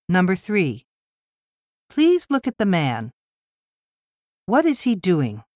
Number 3. Please look at the man. What is he doing?